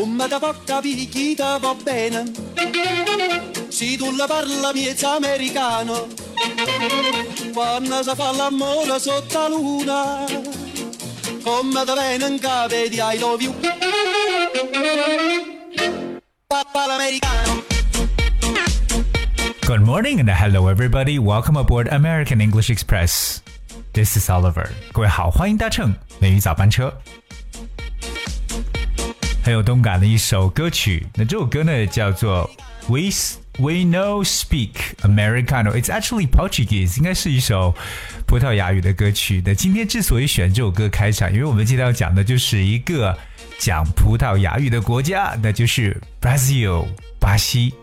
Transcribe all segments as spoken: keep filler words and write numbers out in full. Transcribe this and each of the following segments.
come da può capire chi te va bene, se tu la parla miezza americano, quando si fa l'amore sotto la luna, come da viene in capo di I love you, papà l'americano. Good morning and hello everybody. Welcome aboard American English Express. This is Oliver. 各位好，欢迎搭乘美语早班车。很有动感的一首歌曲，那这首歌呢叫做 We We Know Speak Americano. It's actually Portuguese. 应该是一首葡萄牙语的歌曲。那今天之所以选这首歌开场，因为我们今天要讲的就是一个讲葡萄牙语的国家，那就是 Brazil 巴西。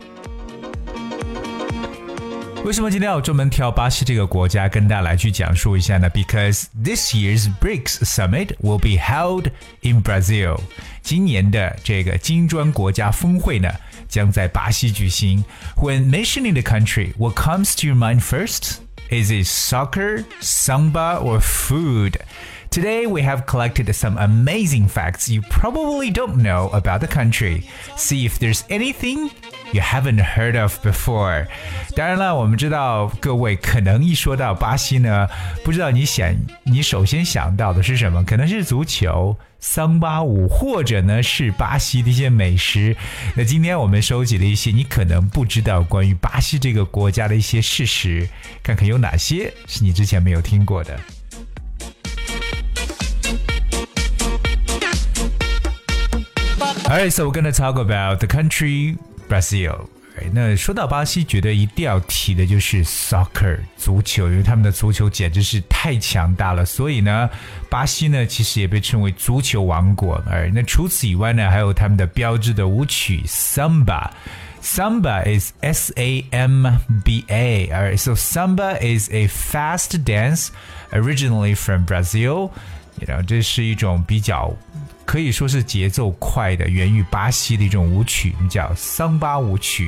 为什么今天要专门挑巴西这个国家跟大家来去讲述一下呢？ Because this year's B R I C S Summit will be held in Brazil. 今年的这个金砖国家峰会呢，将在巴西举行。When mentioning the country, what comes to your mind first? Is it soccer, samba, or food? Today we have collected some amazing facts you probably don't know about the country. See if there's anything you haven't heard of before. 当然了，我们知道各位可能一说到巴西呢，不知道你想你首先想到的是什么？可能是足球、桑巴舞，或者呢是巴西的一些美食。那今天我们收集了一些你可能不知道关于巴西这个国家的一些事实，看看有哪些是你之前没有听过的。Alright, so we're going to talk about the country Brazil. 那说到巴西，觉得一定要提的就是 soccer 足球，因为他们的足球简直是太强大了。所以呢，巴西呢其实也被称为足球王国。而那除此以外呢，还有他们的标志的舞曲 Samba。Samba is S A M B A. Alright, so Samba is a fast dance originally from Brazil. You know, 这是一种比较可以说是节奏快的，源于巴西的一种舞曲，叫桑巴舞曲。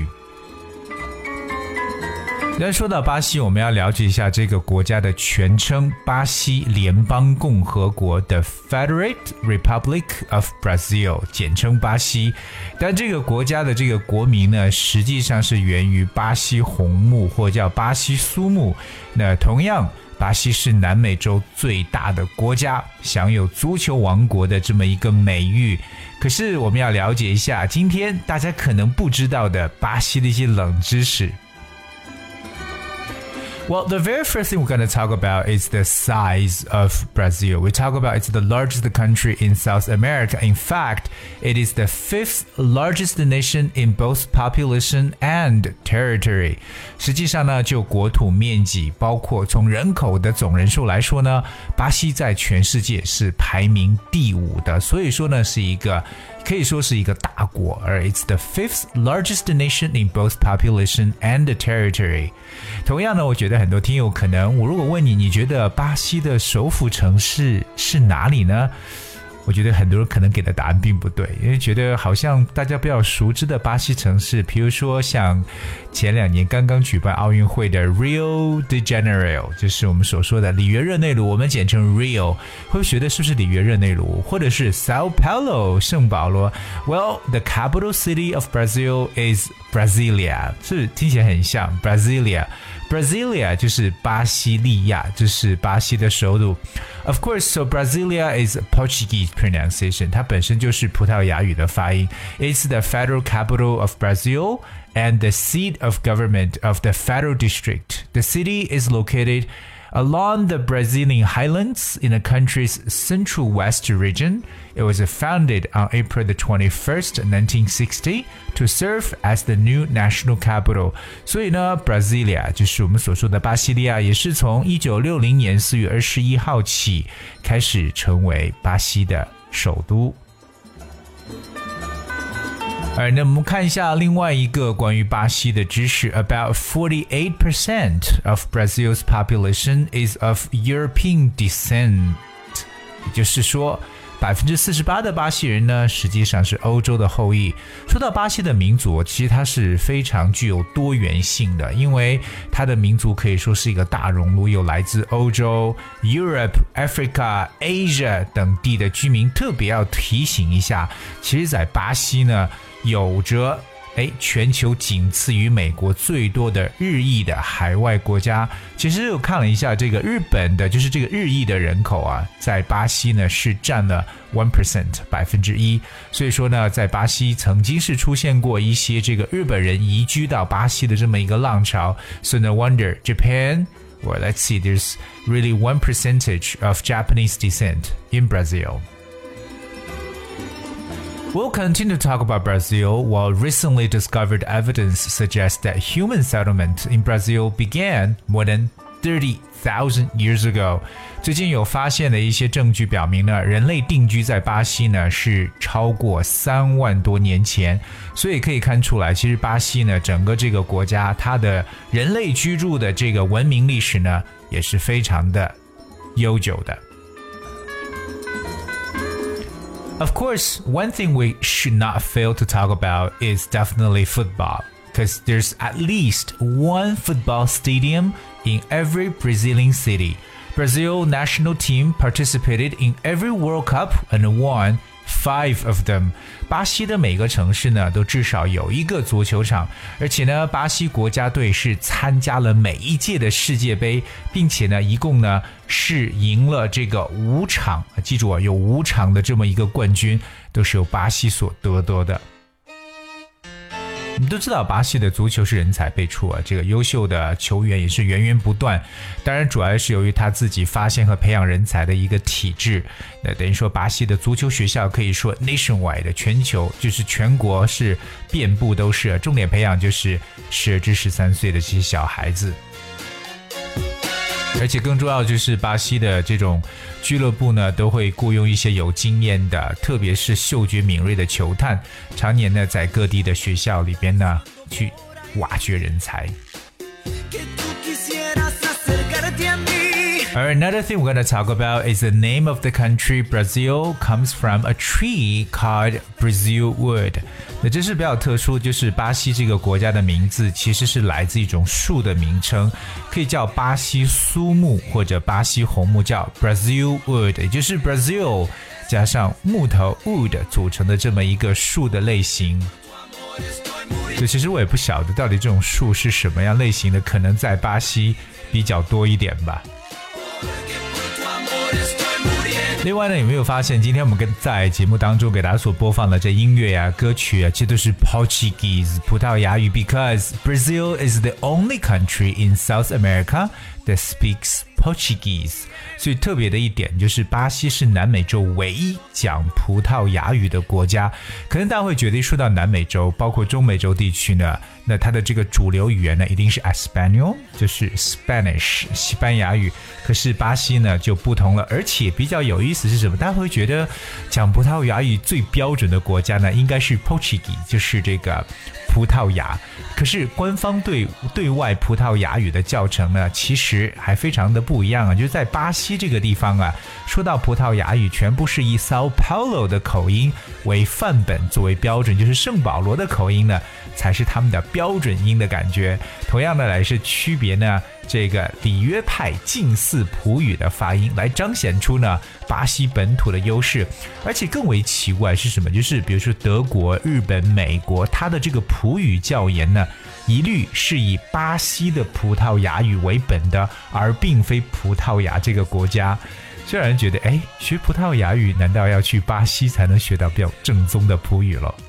那说到巴西，我们要了解一下这个国家的全称，巴西联邦共和国的 Federate Republic of Brazil， 简称巴西。但这个国家的这个国名呢，实际上是源于巴西红木，或叫巴西苏木。那同样，巴西是南美洲最大的国家，享有足球王国的这么一个美誉。可是我们要了解一下，今天大家可能不知道的巴西的一些冷知识。Well, the very first thing we're going to talk about is the size of Brazil. We talk about it's the largest country in South America. In fact, it is the fifth largest nation in both population and territory. 实际上呢，就国土面积，包括从人口的总人数来说呢，巴西在全世界是排名第五的。所以说呢，是一个可以说是一个大国，而 it's the fifth largest nation in both population and territory. 同样呢，我觉得很多听友可能，我如果问你，你觉得巴西的首府城市是哪里呢？我觉得很多人可能给的答案并不对，因为觉得好像大家比较熟知的巴西城市，比如说像前两年刚刚举办奥运会的 Rio de Janeiro， 就是我们所说的里约热内卢，我们简称 Rio， 会不会觉得是不是里约热内卢？或者是 Sao Paulo 圣保罗 ？Well, the capital city of Brazil is Brasilia， 是不是听起来很像 Brasilia？Brasilia 就是巴西利亚，就是巴西的首都。Of course, so Brasilia is Portuguese pronunciation. 它本身就是葡萄牙语的发音。It's the federal capital of Brazil and the seat of government of the federal district. The city is located along the Brazilian highlands in the country's central west region. It was founded on April the twenty-first, nineteen sixty, to serve as the new national capital. 所以呢 Brasilia 就是我们所说的巴西利亚，也是从一九六零年四月二十一号起开始成为巴西的首都。而那我们看一下另外一个关于巴西的知识 About forty-eight percent of Brazil's population is of European descent. 也就是说百分之四十八的巴西人呢，实际上是欧洲的后裔。说到巴西的民族，其实它是非常具有多元性的，因为它的民族可以说是一个大熔炉，有来自欧洲、Europe、Africa、Asia 等地的居民。特别要提醒一下，其实在巴西呢，有着诶全球仅次于美国最多的日裔的海外国家。其实我看了一下这个日本的，就是这个日裔的人口啊，在巴西呢是占了 百分之一 百分之一。所以说呢，在巴西曾经是出现过一些这个日本人移居到巴西的这么一个浪潮。So no wonder Japan, well let's see, there's really one percentage of Japanese descent in Brazil.We'll continue to talk about Brazil, while recently discovered evidence suggests that human settlement in Brazil began more than thirty thousand years ago. 最近有发现的一些证据表明呢，人类定居在巴西呢是超过三万多年前，所以可以看出来，其实巴西呢整个这个国家，它的人类居住的这个文明历史呢也是非常的悠久的。Of course, one thing we should not fail to talk about is definitely football, because there's at least one football stadium in every Brazilian city. Brazil national team participated in every World Cup and won five of them. 巴西的每个城市呢都至少有一个足球场，而且呢巴西国家队是参加了每一届的世界杯，并且呢一共呢是赢了这个五场，记住啊，有五场的这么一个冠军都是由巴西所得得的。你们都知道巴西的足球是人才辈出啊，这个优秀的球员也是源源不断，当然主要是由于他自己发现和培养人才的一个体制。那等于说巴西的足球学校可以说 nationwide 的全球，就是全国是遍布都是，重点培养就是十二至十三岁的这些小孩子。而且更重要就是巴西的这种俱乐部呢都会雇佣一些有经验的，特别是嗅觉敏锐的球探，常年呢在各地的学校里边呢去挖掘人才。Alright, another thing we're going to talk about is the name of the country. Brazil comes from a tree called Brazil wood. 那这是比较特殊，就是巴西这个国家的名字其实是来自一种树的名称，可以叫巴西苏木或者巴西红木，叫 Brazil wood， 也就是 Brazil 加上木头 wood 组成的这么一个树的类型。所以其实我也不晓得到底这种树是什么样类型的，可能在巴西比较多一点吧。另外呢，有没有发现今天我们跟在节目当中给大家所播放的这音乐啊、歌曲啊，这都是 Portuguese 葡萄牙语 because Brazil is the only country in South America that speaks Portuguese. 所以特别的一点就是巴西是南美洲唯一讲葡萄牙语的国家。可能大家会觉得一说到南美洲，包括中美洲地区呢，那它的这个主流语言呢一定是 Espanol， 就是 Spanish 西班牙语。可是巴西呢就不同了，而且比较有意思是什么？大家会觉得讲葡萄牙语最标准的国家呢应该是 Portuguese， 就是这个葡萄牙。可是官方对对外葡萄牙语的教程呢其实还非常的不一样啊，就是在巴西这个地方啊，说到葡萄牙语全部是以 Sao Paulo 的口音为范本作为标准，就是圣保罗的口音呢才是他们的标准音的感觉。同样的来是区别呢这个里约派近似葡语的发音，来彰显出呢巴西本土的优势。而且更为奇怪是什么？就是比如说德国、日本、美国，它的这个葡语教研呢一律是以巴西的葡萄牙语为本的，而并非葡萄牙这个国家。就让人觉得哎，学葡萄牙语难道要去巴西才能学到比较正宗的葡语了？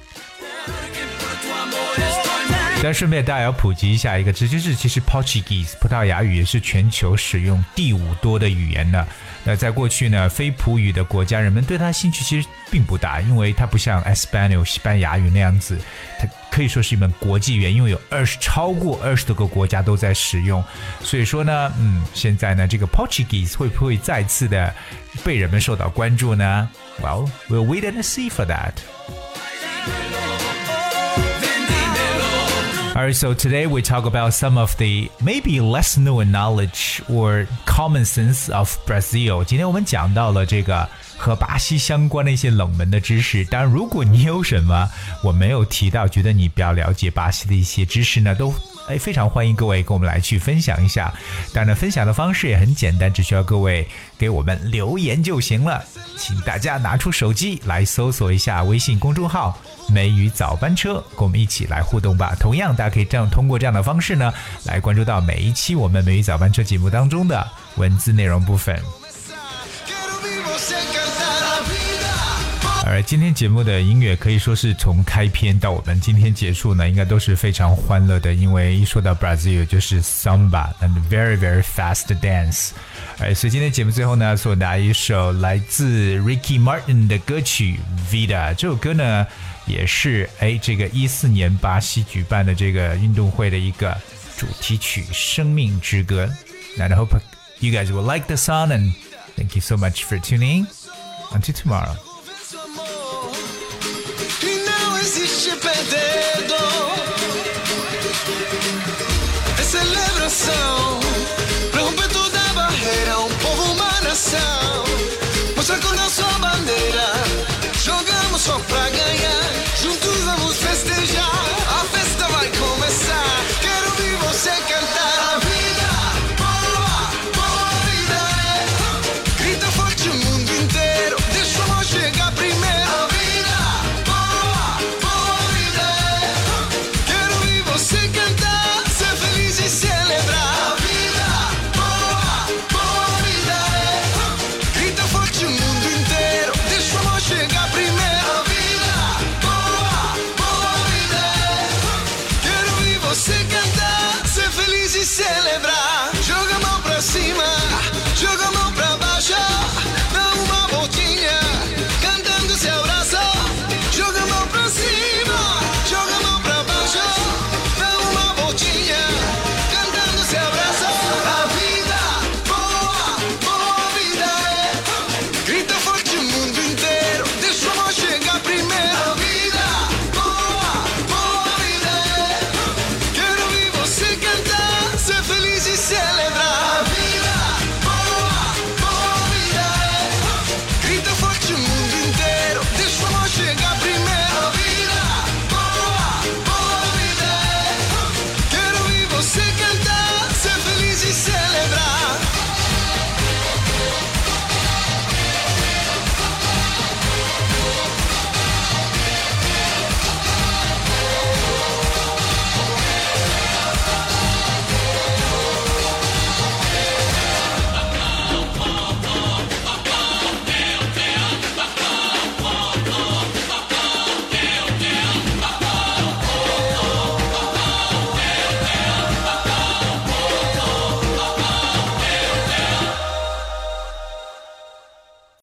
但顺便大家要普及一下一个知识，就是其实 Portuguese 葡萄牙语也是全球使用第五多的语言呢。那在过去呢，非葡语的国家人们对它兴趣其实并不大，因为它不像 Espanol 西班牙语那样子，它可以说是一门国际语言，因为有二十超过二十多个国家都在使用。所以说呢，嗯，现在呢，这个 Portuguese 会不会再次的被人们受到关注呢？ Well, we'll wait and see for that.Alright, so today we talk about some of the maybe less known knowledge or common sense of Brazil. 今天我们讲到了这个和巴西相关的一些冷门的知识。当然，如果你有什么我没有提到，觉得你比较了解巴西的一些知识呢，都哎非常欢迎各位跟我们来去分享一下。当然，分享的方式也很简单，只需要各位给我们留言就行了。请大家拿出手机来搜索一下微信公众号梅雨早班车，跟我们一起来互动吧。同样，大家可以这样通过这样的方式呢，来关注到每一期我们梅雨早班车节目当中的文字内容部分。而今天节目的音乐可以说是从开篇到我们今天结束呢，应该都是非常欢乐的，因为一说到 Brazil 就是 Samba and very very fast dance。而所以今天节目最后呢，送大家一首来自 Ricky Martin 的歌曲 Vida。这首歌呢，也是哎这个一四年巴西举办的这个运动会的一个主题曲《生命之歌》。And I hope you guys will like the song, and thank you so much for tuning in. Until tomorrow. Existe perdendo. É celebração pra romper toda a barreira. Um povo, uma nação. Mostra com a sua bandeira. Jogamos só pra